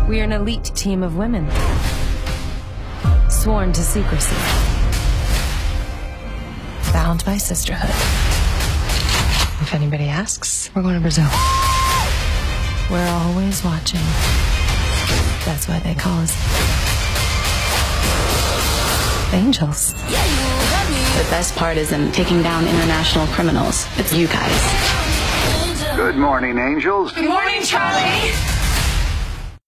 We're an elite team of women, sworn to secrecy, bound by sisterhood. If anybody asks, we're going to Brazil. We're always watching. That's why they call us angels. The best part isn't taking down international criminals. It's you guys. Good morning, angels. Good morning, Charlie.